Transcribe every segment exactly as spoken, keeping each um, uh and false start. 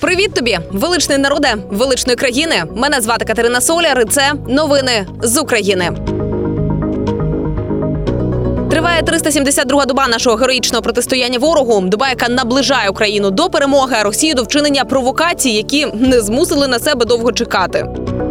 Привіт тобі, величний народе, величної країни. Мене звати Катерина Соляр, і це новини з України. Триває триста сімдесят друга доба нашого героїчного протистояння ворогу. Доба, яка наближає Україну до перемоги, а Росію до вчинення провокацій, які не змусили на себе довго чекати.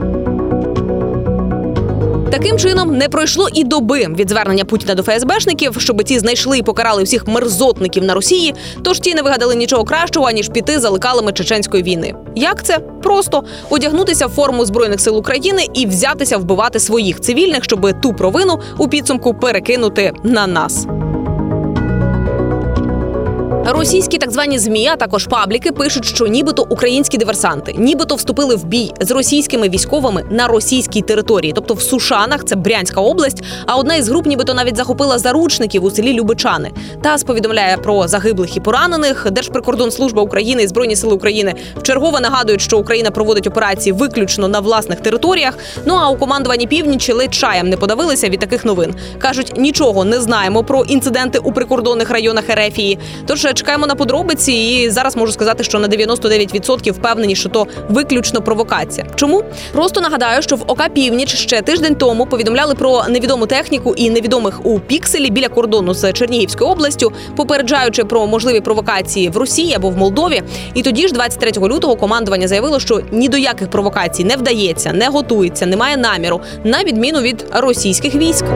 Таким чином, не пройшло і доби від звернення Путіна до ФСБшників, щоб ті знайшли і покарали всіх мерзотників на Росії, тож ті не вигадали нічого кращого, ніж піти за лекалами чеченської війни. Як це? Просто одягнутися в форму Збройних сил України і взятися вбивати своїх цивільних, щоб ту провину у підсумку перекинути на нас. Російські так звані ЗМІ, а також пабліки пишуть, що нібито українські диверсанти, нібито вступили в бій з російськими військовими на російській території, тобто в Сушанах, це Брянська область, а одна із груп нібито навіть захопила заручників у селі Любичани. ТАСС повідомляє про загиблих і поранених. Держприкордонслужба України і Збройні сили України вчергове нагадують, що Україна проводить операції виключно на власних територіях. Ну а у командуванні Північі ледь чаєм не подавилися від таких новин. Кажуть, нічого не знаємо про інциденти у прикордонних районах Ерефії. Тож чекаємо на подробиці, і зараз можу сказати, що на дев'яносто дев'ять відсотків впевнені, що то виключно провокація. Чому? Просто нагадаю, що в ОК «Північ» ще тиждень тому повідомляли про невідому техніку і невідомих у Пікселі біля кордону з Чернігівською областю, попереджаючи про можливі провокації в Росії або в Молдові. І тоді ж, двадцять третього лютого, командування заявило, що ні до яких провокацій не вдається, не готується, немає наміру, на відміну від російських військ.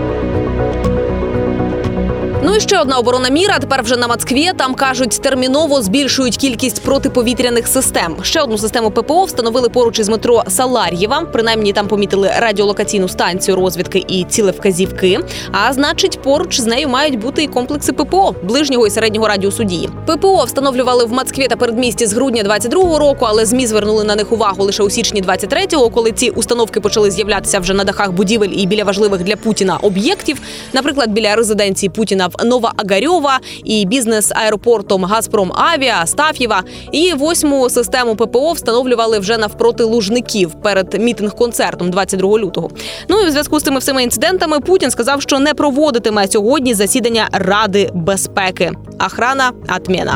Ну і ще одна оборонна міра, тепер вже на Москві. Там, кажуть, терміново збільшують кількість протиповітряних систем. Ще одну систему ППО встановили поруч із метро Салар'єва. Принаймні, там помітили радіолокаційну станцію розвідки і цілевказівки. А значить, поруч з нею мають бути і комплекси ППО ближнього і середнього радіусу дії. ППО встановлювали в Москві та передмісті з грудня двадцять другого року, але ЗМІ звернули на них увагу лише у січні двадцять третього, коли ці установки почали з'являтися вже на дахах будівель і біля важливих для Путіна об'єктів. Наприклад, біля резиденції Путіна в Новоогарьова і бізнес-аеропортом «Газпром-Авіа», Астаф'єва. І восьму систему ППО встановлювали вже навпроти Лужників перед мітинг-концертом двадцять другого лютого. Ну і в зв'язку з цими всіма інцидентами Путін сказав, що не проводитиме сьогодні засідання Ради безпеки. Охрана – отмена.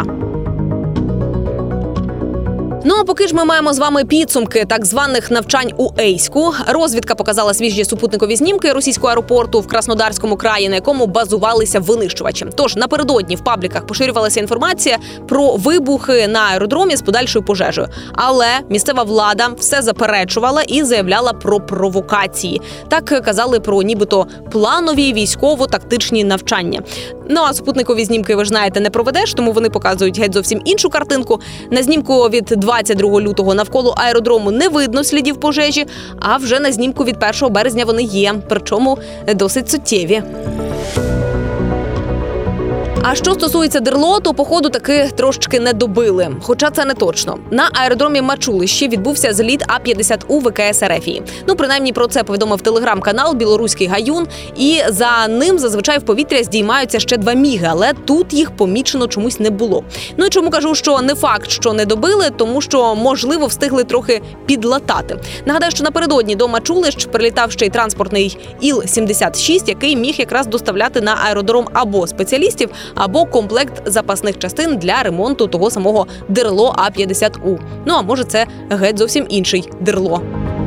Ну а поки ж ми маємо з вами підсумки так званих навчань у Ейську. Розвідка показала свіжі супутникові знімки російського аеропорту в Краснодарському краї, на якому базувалися винищувачі. Тож напередодні в пабліках поширювалася інформація про вибухи на аеродромі з подальшою пожежею. Але місцева влада все заперечувала і заявляла про провокації. Так казали про нібито планові військово-тактичні навчання. Ну а супутникові знімки, ви ж знаєте, не проведеш, тому вони показують геть зовсім іншу картинку. На знімку від двадцять другого лютого навколо аеродрому не видно слідів пожежі, а вже на знімку від першого березня вони є, причому досить суттєві. А що стосується ДРЛО, то, походу, таки трошечки не добили. Хоча це не точно. На аеродромі Мачулище відбувся зліт А п'ятдесят У ВКС Ерефії. Ну, принаймні, про це повідомив телеграм-канал «Білоруський Гаюн». І за ним зазвичай в повітря здіймаються ще два міги, але тут їх помічено чомусь не було. Ну і чому кажу, що не факт, що не добили, тому що, можливо, встигли трохи підлатати. Нагадаю, що напередодні до Мачулищ прилітав ще й транспортний Іл сімдесят шість, який міг якраз доставляти на аеродром або спеціалістів, або комплект запасних частин для ремонту того самого ДРЛО А п'ятдесят У. Ну, а може це геть зовсім інший ДРЛО.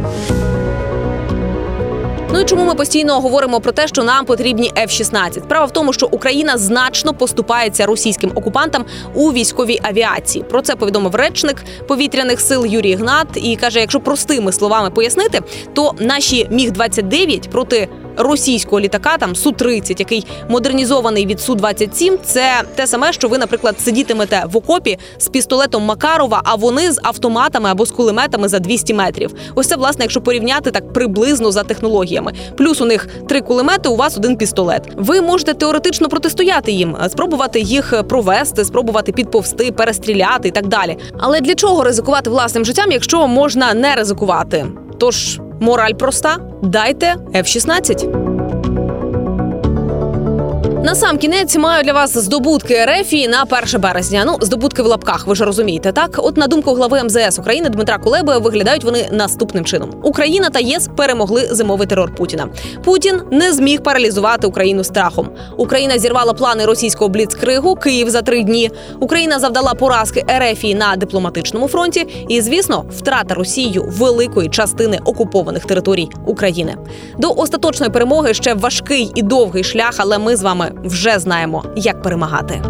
Ну і чому ми постійно говоримо про те, що нам потрібні Еф шістнадцять? Справа в тому, що Україна значно поступається російським окупантам у військовій авіації. Про це повідомив речник повітряних сил Юрій Ігнат і каже, якщо простими словами пояснити, то наші Міг двадцять дев'ять проти російського літака, там Су тридцять, який модернізований від Су двадцять сім, це те саме, що ви, наприклад, сидітимете в окопі з пістолетом Макарова, а вони з автоматами або з кулеметами за двісті метрів. Ось це, власне, якщо порівняти так приблизно за технологіями. Плюс у них три кулемети, у вас один пістолет. Ви можете теоретично протистояти їм, спробувати їх провести, спробувати підповзти, перестріляти і так далі. Але для чого ризикувати власним життям, якщо можна не ризикувати? Тож, мораль проста – дайте Еф шістнадцять. На сам кінець маю для вас здобутки РФ на перше березня. Ну, здобутки в лапках, ви ж розумієте, так? От на думку глави ем зе ес України Дмитра Кулеби, виглядають вони наступним чином. Україна та ЄС перемогли зимовий терор Путіна. Путін не зміг паралізувати Україну страхом. Україна зірвала плани російського бліцкригу, Київ за три дні. Україна завдала поразки РФ на дипломатичному фронті і, звісно, втрата Росією великої частини окупованих територій України. До остаточної перемоги ще важкий і довгий шлях, але ми з вами вже знаємо, як перемагати.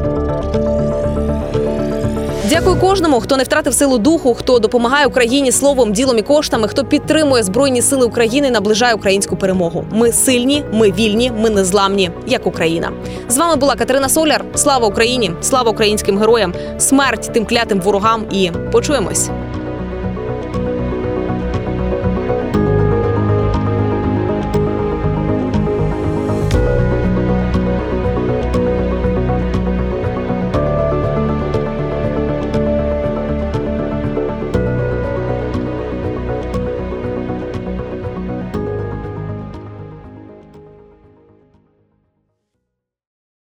Дякую кожному, хто не втратив силу духу, хто допомагає Україні словом, ділом і коштами, хто підтримує Збройні сили України і наближає українську перемогу. Ми сильні, ми вільні, ми незламні, як Україна. З вами була Катерина Соляр. Слава Україні! Слава українським героям! Смерть тим клятим ворогам і почуємось!